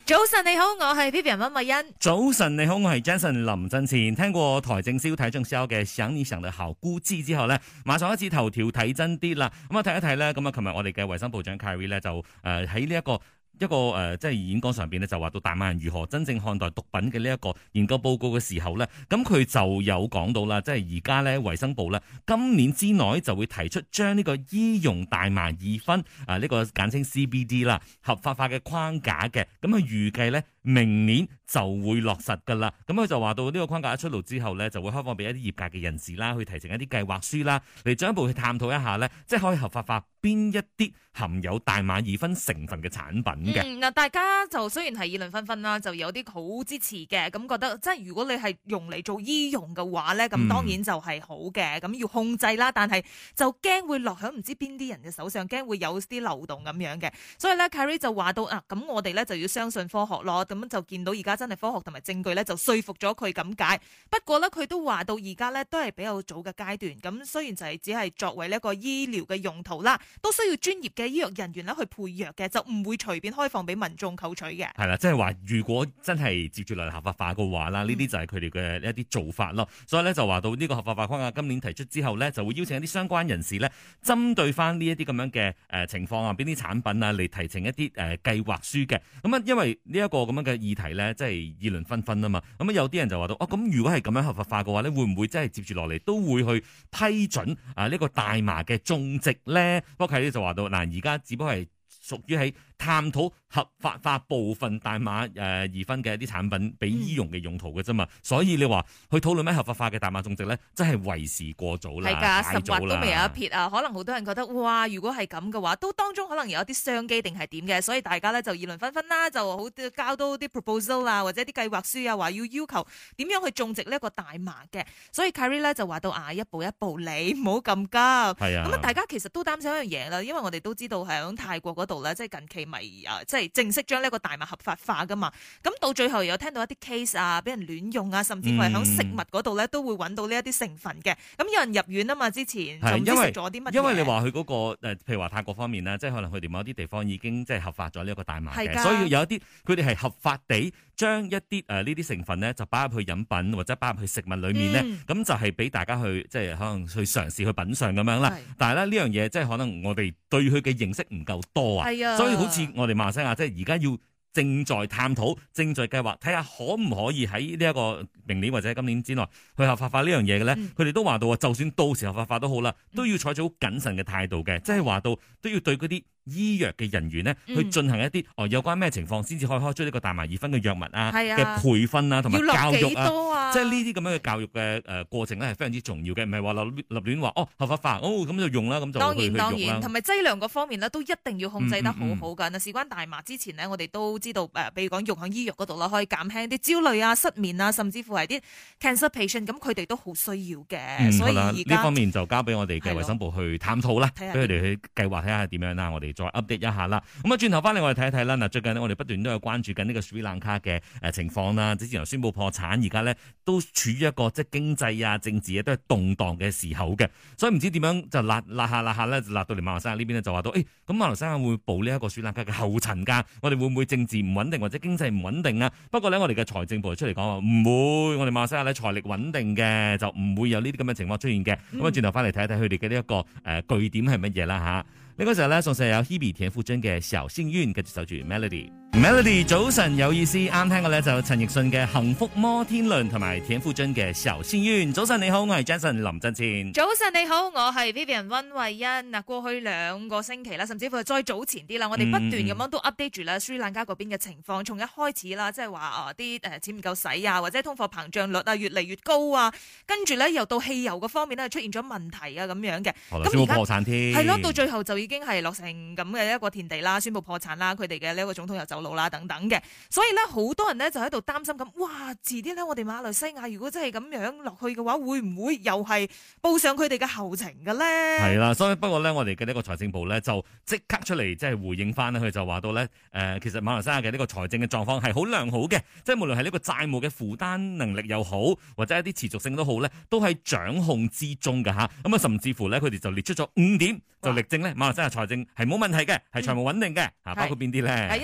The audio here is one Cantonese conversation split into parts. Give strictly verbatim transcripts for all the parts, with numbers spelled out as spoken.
早晨你好，我係 Vivian 溫慧欣。 早晨你好，我係 Jason 林振前。聽過台正宵睇正宵嘅想你想得好估知之後呢，馬上開始頭條睇真啲啦。咁啊睇一睇呢，咁啊，琴日我哋嘅衛生部長 Khairy 咧就誒喺呢一個。一個誒、呃，即係演講上邊咧，就話到大馬人如何真正看待毒品嘅呢一個研究報告嘅時候咧，咁佢就有講到啦，即係而家咧衛生部咧今年之內就會提出將呢個醫用大麻二酚啊呢、這個簡稱 C B D 啦合法化嘅框架嘅，咁佢預計咧明年就會落實噶啦。咁佢就話到呢個框架一出爐之後咧，就會開放俾一啲業界嘅人士啦，去提呈一啲計劃書啦，嚟進一步去探討一下咧，即係可以合法化邊一啲含有大麻二酚成分嘅產品。 嗯，嗱，大家就雖然係議論紛紛啦，就有啲好支持嘅，咁覺得即係如果你係用嚟做醫用嘅話咧，咁當然就係好嘅，咁、嗯、要控制啦，但係就驚會落響唔知邊啲人嘅手上，驚會有啲漏洞咁樣嘅，所以咧 Khairy 就話到啊，咁我哋咧就要相信科學咯，咁就見到而家真係科學同埋證據咧就說服咗佢咁解。不過咧佢都話到而家咧都係比較早嘅階段，咁雖然就係只係作為呢一個醫療嘅用途啦，都需要專業嘅醫藥人員咧去配藥嘅，就唔會隨便開放俾民眾購取嘅。 係啦，即係話如果真係接住嚟合法化嘅話啦，呢啲就係佢哋嘅一啲做法咯。所以咧就話到呢個合法化框架今年提出之後咧，就會邀請一啲相關人士咧，針對翻呢一啲咁樣嘅誒情況啊，邊啲產品啊嚟提呈一啲誒計劃書嘅。咁啊，因為呢一個咁樣嘅議題咧，即係議論紛紛啊嘛。咁啊，有啲人就話到哦，咁如果係咁樣合法化嘅話咧，會唔會真係接住落嚟都會去批准啊呢個大麻嘅種植咧？不過佢哋就話到嗱，而家只不過係屬於喺探討合法化部分大麻誒二酚嘅一啲產品俾醫用嘅用途嘅啫嘛，嗯、所以你話去討論咩合法化嘅大麻種植咧，真係為時過早啦， 係㗎，十劃都未有一撇啊！可能好多人覺得哇，如果係咁嘅話，都當中可能有一啲商機定係點嘅，所以大家咧就議論紛紛啦，就好交到啲 proposal 啊，或者啲計劃書啊，話要要求點樣去種植呢一個大麻嘅。所以 Khairy 咧就話到啊，一步一步嚟，唔好咁急。係啊，咁啊，大家其實都擔心一樣嘢啦，因為我哋都知道喺泰國嗰度咧，即係近期咪啊，即係正式將呢個大麻合法化噶嘛。咁到最後有聽到一啲 case 啊，俾人亂用啊，甚至乎係喺食物嗰度咧都會揾到呢一啲成分嘅。咁有人入院啊嘛，之前就唔知食咗啲乜嘢。 因為你話佢嗰個誒，譬如話泰國方面咧，即係可能佢哋某一啲地方已經即係合法咗呢一個大麻嘅，所以有一啲佢哋係合法地將一啲誒呢啲成分咧就擺入去飲品或者擺入去食物裡面咧，咁、嗯、就係俾大家去即係可能去嘗試去品嚐咁樣啦。但係咧呢樣嘢即係可能我哋對佢嘅認識唔夠多啊，所以好似我哋馬來西亞即係而家要正在探討、正在計劃，睇下可唔可以喺呢一個明年或者今年之內去合法化呢樣嘢嘅咧？佢哋、嗯、都話到啊，就算到時合法化都好啦，都要採取好謹慎嘅態度嘅，即係話到都要對嗰啲醫藥嘅人員呢，去進行一啲、嗯、哦有關咩情況先至可以開出呢個大麻二酚嘅藥物啊嘅、啊、培訓啊同埋教育啊，啊即係呢啲咁樣嘅教育嘅誒過程咧係非常之重要嘅，唔係話立立亂話哦合法化哦咁就用啦，咁就當然當然，同埋劑量嗰方面呢，都一定要控制得好好㗎。嗱、嗯，事關大麻之前呢，我哋都知道誒，譬如講用喺醫藥嗰度啦，可以減輕啲焦慮啊、失眠啊，甚至乎係啲 cancer patient，咁佢哋都好需要嘅。嗯、所以而家呢方面就交俾我哋嘅衛生部去探討啦，俾佢哋去計劃睇下點樣啦，我哋再 update 一下啦。咁啊，轉頭翻嚟我哋睇一睇啦。嗱，最近呢，我哋不斷都有關注緊呢個斯里蘭卡嘅誒情況啦。之前又宣布破產，而家咧都處於一個即係經濟啊、政治啊都係動盪嘅時候嘅。所以唔知點樣就辣辣下辣下咧，就辣到嚟馬來西亞呢邊咧，就話到誒，咁馬來西亞會步呢一個斯里蘭卡嘅後塵㗎。我哋會唔會政治唔穩定或者經濟唔穩定啊？不過咧，我哋嘅財政部出嚟講話唔會，我哋馬來西亞咧財力穩定嘅，就唔會有呢啲咁嘅情況出現嘅。咁啊、嗯，轉頭翻嚟睇一睇佢哋嘅呢一個誒、呃、據點係乜嘢啦嚇。呢個時候咧，送上有 Hebe 田馥甄嘅小幸運，跟住守住 Melody。Melody 早晨有意思，啱聽嘅咧就陳奕迅嘅幸福摩天輪同埋田馥甄嘅小幸運。早晨你好，我係 Jason 林振前。 早晨你好，我係 Vivian 溫慧欣。嗱，過去兩個星期啦，甚至乎係再早前啲啦，我哋不斷咁樣都 update 住啦，斯里蘭卡嗰邊嘅情況，從一開始啦，即係話啊啲誒錢唔夠使啊，或者通貨膨脹率啊越嚟越高啊，跟住咧又到汽油嗰方面咧出現咗問題啊咁樣嘅。 咁而家破產添， 係咯，到最後就已經係落成咁嘅一個田地啦，宣布破產啦，佢哋嘅呢一個總統又走佬啦，等等嘅，所以咧好多人咧就喺度擔心咁，哇，遲啲咧我哋馬來西亞如果真係咁樣落去嘅話，會唔會又係步上佢哋嘅後程嘅咧？ 係啦，所以不過咧，我哋嘅呢個財政部咧就即刻出嚟即係回應翻，佢就話到咧，誒、呃，其實馬來西亞嘅呢個財政嘅狀況係好良好嘅，即係無論係呢個債務嘅負擔能力又好，或者一啲持續性都好咧，都係掌控之中嘅吓。咁啊，甚至乎咧，佢哋就列出咗五點，就力證咧馬來西亞財政係冇問題嘅，係財務穩定嘅，吓、嗯、包括邊啲咧？ 係一齊嚟睇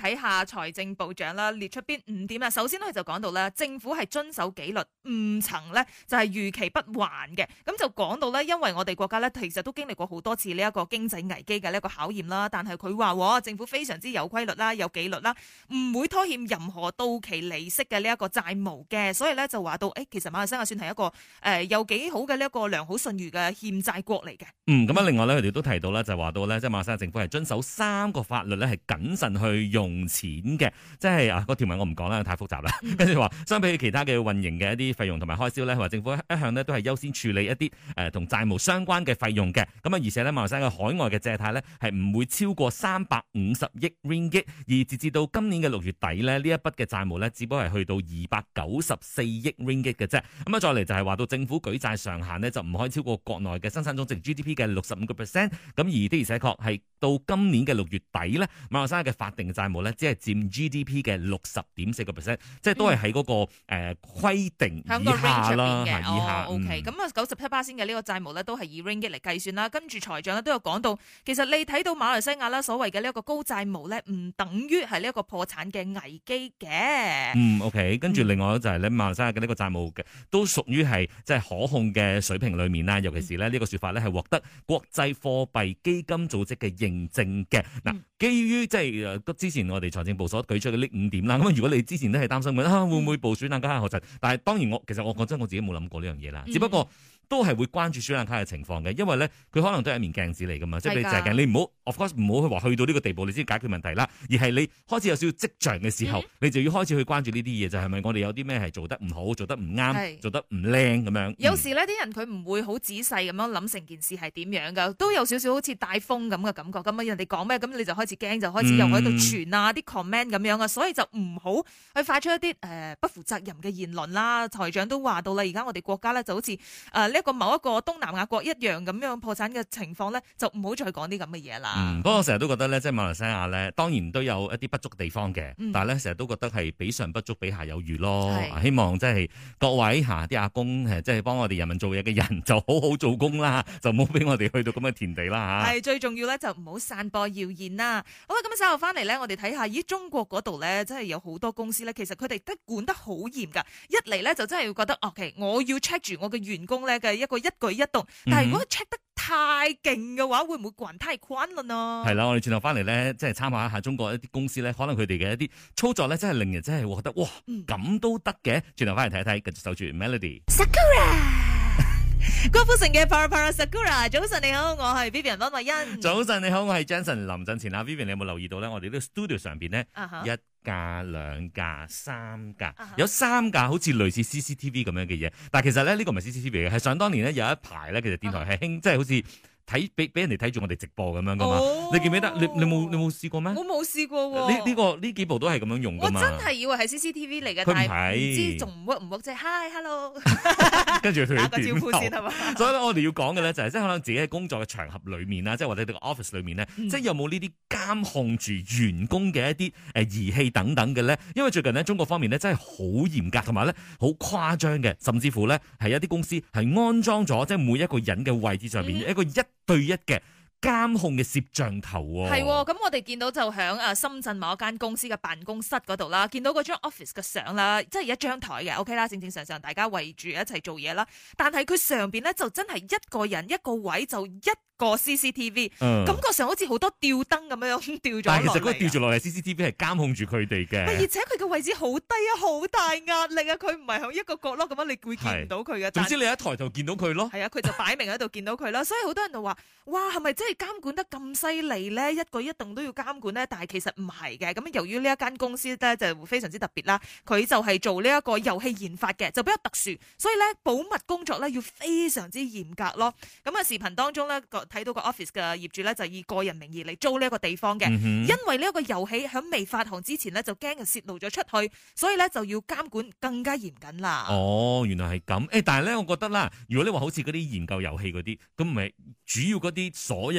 睇下財政部長啦，列出邊五點啦。首先咧就講到咧，政府係遵守紀律，唔曾咧就係逾期不還嘅。咁就講到咧，因為我哋國家咧其實都經歷過好多次呢一個經濟危機嘅呢一個考驗啦。但係佢話政府非常之有規律啦，有紀律啦，唔會拖欠任何到期利息嘅呢一個債務嘅。所以咧就話到，誒，其實馬來西亞算係一個誒、呃、有幾好嘅呢一個良好信譽嘅欠債國嚟嘅。 嗯，咁啊，另外咧佢哋都提到咧，就話到咧，即係馬來西亞政府係遵守三個法律咧，係謹慎去用錢嘅。即係啊，個條文我唔講啦，太複雜啦。跟住話，相比起其他嘅運營嘅一啲費用同埋開銷咧，佢話政府一向呢都係優先處理一啲誒同債務相關嘅費用嘅。咁啊，而且咧馬來西亞嘅海外嘅借貸咧係唔會超過三百五十億 ringgit， 而截至到今年嘅六月底咧，呢一筆嘅債務咧只不過係去到二百九十四億 ringgit 嘅啫。咁啊，再嚟就係話到政府舉債上限呢，就唔可以超過國內嘅生產總值 G D P 嘅六十五個 percent。咁而的而且確係到今年嘅六月底咧，馬來西亞嘅法定債務咧只係佔 G D P 嘅六十點四個 percent， 即係都係喺嗰個誒、呃、規定以下啦，係以下。 O K，咁啊九十七巴仙嘅呢個債務咧都係以 ringgit 嚟計算啦。跟住財長咧都有講到，其實你睇到馬來西亞啦所謂嘅呢一個高債務咧，唔等於係呢一個破產嘅危機嘅。 嗯 ，OK， 跟住另外就係咧馬來西亞嘅呢個債務嘅都屬於係即係可控嘅水平裏面啦。尤其是咧呢個說法咧係獲得國際貨幣基金組織嘅認證嘅。嗱、嗯，基於即係誒之前我哋財政部所舉出嘅呢五點啦。咁如果你之前都係擔心緊啊會唔會部署冷卡學陣，但係當然我其實我講真我自己冇諗過呢樣嘢啦，只不過。都係會關注水冷卡嘅情況嘅，因為咧佢可能都係一面鏡子嚟噶嘛，即係你淨係你唔好 of course 唔好去話去到呢個地步你先解決問題啦，而係你開始有少少跡象嘅時候，嗯、你就要開始去關注呢啲嘢，就係、是、咪我哋有啲咩係做得唔好，做得唔啱，做得唔靚咁樣。 有時呢啲人佢唔會好仔細咁樣諗成件事係點樣噶，都有少少好似帶風咁嘅感覺。咁啊人哋講咩，咁你就開始驚，就開始又喺度傳啊啲 comment 咁樣啊，所以就唔好去發出一啲誒、呃、不負責任嘅言論啦。財長都話到啦，而家我哋國家咧就好似誒呢一個某一個東南亞國一樣咁樣破產嘅情況咧，就唔好再講啲咁嘅嘢啦。 嗯，不過我成日都覺得咧，即係馬來西亞咧，當然都有一啲不足嘅地方嘅，嗯、但係咧成日都覺得係比上不足，比下有餘咯。希望即係各位嚇啲阿公即係幫我哋人民做嘢嘅人，就好好做工啦，就唔好俾我哋去到咁嘅田地啦嚇。係最重要咧，就唔好散播謠言啦。好啦，咁稍後翻嚟咧，我哋睇下，咦，中國嗰度咧，真係有好多公司咧，其實佢哋都管得好嚴㗎。一嚟咧就真係要覺得，OK，我要 check 住我嘅員工咧嘅一個一舉一動，但係如果 check 得太勁嘅話，會唔會管太寬啦呢？係啦，我哋轉頭翻嚟咧，即係參考一下中國一啲公司咧，可能佢哋嘅一啲操作咧，真係令人真係覺得哇，咁都得嘅。轉頭翻嚟睇一睇，繼續守住 Melody。Sakura， 郭富城嘅 Para Para Sakura。早晨你好，我係 Vivian 溫慧欣。早晨你好，我係 Jensen 林振前啊。Vivian，你有冇留意到咧？我哋呢個 studio 上邊咧，uh huh. 一架、兩架、三架，uh huh. 有三架好似類似 C C T V 咁樣嘅嘢，但係其實咧呢、呢個唔係 C C T V 嘅，係想當年咧有一排咧，其實電台係興，uh huh. 即係好似。睇俾俾人哋睇住我哋直播咁樣噶嘛？哦、你記唔記得？你你冇你冇試過咩？我冇試過喎。呢呢個呢幾部都係咁樣用噶嘛？我真係以為係 C C T V 嚟嘅，但係唔知仲唔 work 唔 work 即係 Hi Hello， 跟住佢打個招呼先係嘛？所以咧，我哋要講嘅咧就係即係可能自己喺工作嘅場合裏面啦，即係或者你個 office 裏面咧，嗯、即係有冇呢啲監控住員工嘅一啲誒儀器等等嘅咧？因為最近呢，中國方面咧真係好嚴格，同埋咧好誇張嘅，甚至乎咧係一啲公司係安裝咗即係每一個人嘅位置上面、嗯、一個一對一嘅監控嘅攝像頭喎。係喎，咁我哋見到就喺誒深圳某一間公司嘅辦公室嗰度啦，見到嗰張 office 嘅相啦，即係一張台嘅 OK 啦，正正常常大家圍住一齊做嘢啦。但係佢上邊咧就真係一個人一個位就一個 C C T V，、嗯、感覺上好似好多吊燈咁樣吊咗落嚟。但係其實嗰個吊住落嚟 C C T V 係監控住佢哋嘅。而且佢嘅位置好低啊，好大壓力啊，佢唔係喺一個角落咁樣，你會見唔到佢嘅。總之你一抬就見到佢咯。係啊，佢就擺明喺度見到佢啦。所以好多人就話：哇，係咪真係監管得咁犀利咧？一舉一動都要監管咧？但係其實唔係嘅。咁由於呢一間公司咧就非常之特別啦，佢就係做呢一個遊戲研發嘅，就比較特殊，所以咧保密工作咧要非常之嚴格咯。咁啊視頻當中咧睇到個 office 嘅業主咧就以個人名義嚟租呢一個地方嘅，嗯、哼因為呢一個遊戲喺未發行之前咧就驚佢泄露咗出去，所以咧就要監管更加嚴謹啦。哦，原來係咁。誒，但係咧，我覺得啦，如果你話好似嗰啲研究遊戲嗰啲，咁唔係主要嗰啲所有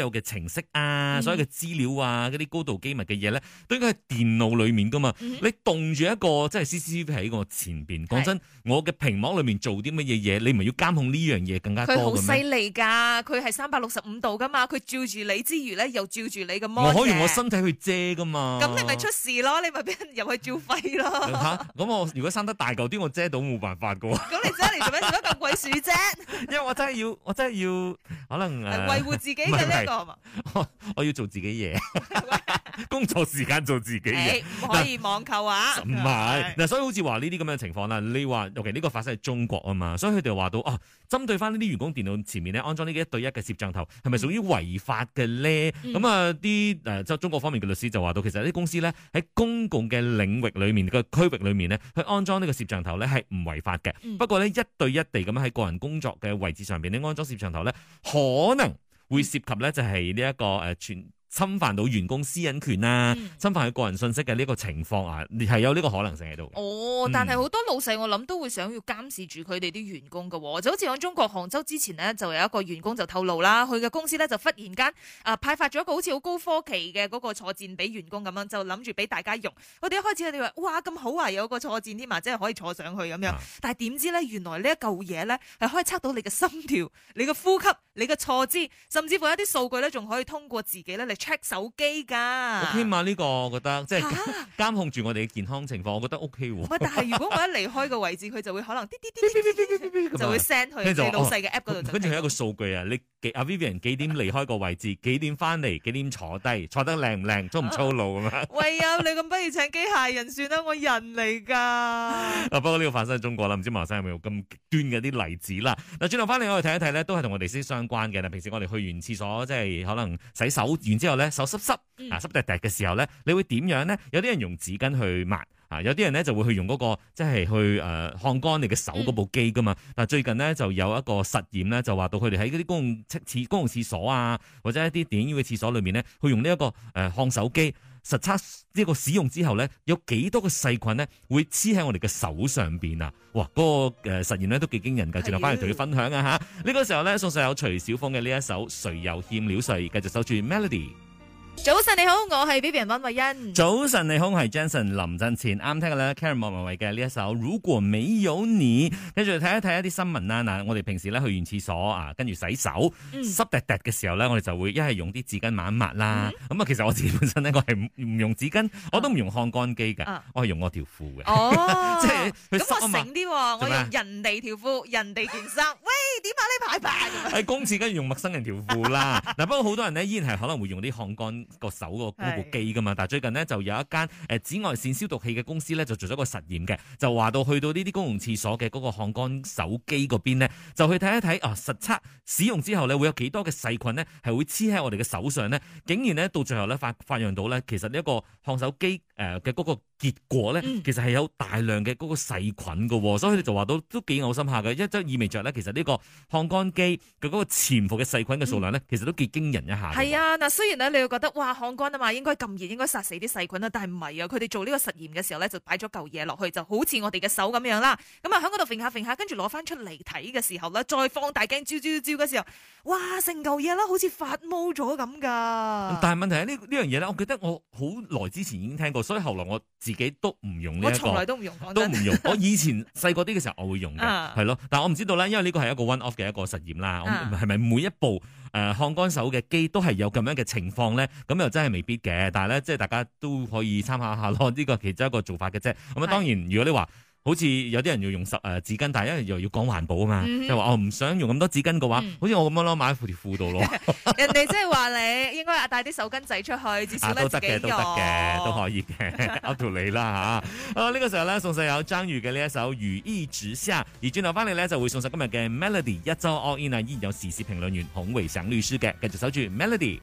有嘅程式啊，嗯、所有嘅資料啊，嗰啲高度機密嘅嘢咧，都應該喺電腦裏面噶嘛。嗯、你動住一個即係 C C T V 喺我前邊，講真，我嘅屏幕裏面做啲乜嘢嘢，你唔係要監控呢樣嘢更加多嘅咩？佢好犀利㗎，佢係三百六十五度㗎嘛，佢照住你之餘咧，又照住你嘅 mon。 我可以用我身體去遮㗎嘛。 咁你咪出事咯，你咪俾人入去照肺咯。 嚇！咁我如果生得大嚿啲，我遮到冇辦法㗎喎。 咁你遮嚟做咩？做乜咁鬼鼠啫？ 因為我真係要，我真係要，可能誒、呃、 維護自己嘅呢一個係嘛？ 我我要做自己嘢。工作時間做自己嘢， 唔可以網購啊！ 唔係嗱，所以好似話呢啲咁樣嘅情況啦，你話尤其呢個發生喺中國啊嘛，所以佢哋話到哦，針對翻呢啲員工電腦前面咧安裝呢啲一對一嘅攝像頭，係咪屬於違法嘅咧？咁、嗯、啊，啲誒即係中國方面嘅律師就話到，其實啲公司咧喺公共嘅領域裏面嘅區域裏面咧，去安裝呢個攝像頭咧係唔違法嘅。嗯、不過咧一對一地咁樣喺個人工作嘅位置上邊咧安裝攝像頭咧，可能會涉及咧就係呢一個誒全。侵犯到員工私隱權啊，嗯、侵犯佢個人信息嘅呢個情況啊，係有呢個可能性喺度。 哦，但係好多老細我諗都會想要監視住佢哋啲員工㗎喎，就好似喺中國杭州之前呢，就有一個員工就透露啦，佢嘅公司咧就忽然間啊派發咗一個好似好高科技嘅嗰個坐墊俾員工咁樣，就諗住俾大家用。佢哋一開始佢哋話哇咁好啊，有個坐墊添啊，即係可以坐上去咁樣。啊、但係點知咧，原來呢一嚿嘢咧係可以測到你嘅心跳、你嘅呼吸、你嘅坐姿，甚至乎一啲數據咧仲可以通過自己咧嚟 check 手機噶。 起碼呢個我覺得即係監控住我哋嘅健康情況，我覺得 O K 喎。 但係如果我一離開個位置，佢就會可能滴滴滴滴就會 send 去你老細嘅 app 嗰度。 跟住係一個數據啊，你阿 Vivian 幾點離開個位置，幾點翻嚟，幾點坐低，坐得靚唔靚，粗唔粗魯咁樣。 喂啊，你咁不如請機械人算啦，我人嚟噶。 啊，不過呢個發生喺中國啦，唔知馬生有冇咁極端嘅啲例子啦。嗱，轉頭翻嚟我哋睇一睇咧，都係同我哋息息相關嘅。平時我哋去完廁所，即係可能洗手完之後咧，手濕濕啊濕滴滴嘅時候咧，你會點樣咧？有啲人用紙巾去抹啊，有啲人咧就會去用嗰、那個即係去誒烘乾你嘅手嗰部機噶嘛。但係最近呢，就有一個實驗咧，就話到佢哋喺嗰啲公共廁公共廁所啊，或者一啲電影院嘅廁所裏面咧，去用呢、這、一個誒烘、呃、手機。實測呢個使用之後咧，有幾多個細菌咧會黐喺我哋嘅手上邊啊？哇！嗰、那個誒實驗咧都幾驚人㗎，轉頭翻嚟同佢分享啊嚇！呢、這個時候咧送上有徐小鳳嘅呢一首《誰又欠了誰》，繼續守住 Melody。 早晨你好，我係 Vivian 溫慧欣。 早晨你好，我係 Jensen 林振前。啱聽嘅咧 Karen 莫文蔚嘅呢一首《如果沒有你》，跟住睇一睇一啲新聞啦。嗱，我哋平時咧去完廁所啊，跟住洗手、嗯、濕滴滴嘅時候咧，我哋就會一係用啲紙巾抹一抹啦。咁啊、嗯，其實我自己本身咧，我係唔用紙巾，我都唔用烘乾機㗎，啊、我係用我條褲嘅。 哦， 即係咁我醒啲，我用人哋條褲、人哋件衫。喂，點啊呢排排？喺公廁跟住用陌生人條褲啦。嗱，不過好多人咧依然係可能會用啲烘乾個手個嗰部機噶嘛，但係最近呢，就有一間誒紫外線消毒器嘅公司咧就做咗個實驗嘅，就話到去到呢啲公共廁所嘅嗰個烘乾手機嗰邊呢，就去睇一睇啊，實測使用之後咧會有幾多嘅細菌呢係會黐喺我哋嘅手上呢，竟然呢，到最後咧發發現到咧，其實呢一個烘手機誒嘅嗰個結果咧，嗯、其實係有大量嘅嗰個細菌噶，所以佢哋就話到都幾嘔心下嘅，一即係意味着咧，其實呢個烘乾機嘅嗰個潛伏嘅細菌嘅數量咧，嗯、其實都幾驚人一下。 係啊，嗱，雖然咧你會覺得哇烘乾啊嘛，應該咁熱，應該殺死啲細菌啦，但係唔係啊，佢哋做呢個實驗嘅時候咧，就擺咗嚿嘢落去，就好似我哋嘅手咁樣啦。咁啊喺嗰度揈下揈下，跟住攞翻出嚟睇嘅時候咧，再放大鏡照照照嘅時候，哇，成嚿嘢啦，好似發毛咗咁噶。但係問題係呢呢樣嘢咧，我記得我好耐之前已經聽過，所以後來我自己都唔用呢、這、一個，我從來都唔用，都唔用。我以前細個啲嘅時候我會用嘅，係咯、啊，但係我唔知道咧，因為呢個係一個 one off 嘅一個實驗啦，係咪、啊、每一部誒烘乾手嘅機都係有咁樣嘅情況咧？咁又真係未必嘅，但係咧即係大家都可以參考下咯，呢、這個其中一個做法嘅啫。咁啊，當然如果你話，好似有啲人要用十誒紙巾，但係因為又要講環保啊嘛，即係話我唔想用咁多紙巾嘅話，嗯、好似我咁樣咯，買喺條褲度咯。人哋即係話你應該帶啲手巾仔出去，至少咧自己用。啊，都得嘅，都得嘅，都可以嘅，up to 你啦嚇。好，呢、這個時候咧送上有張宇嘅呢一首《如衣直下》，而轉頭翻嚟咧就會送上今日嘅 Melody 一周 All In 啊，依然有時事評論員孔維省律師嘅，繼續守住 Melody。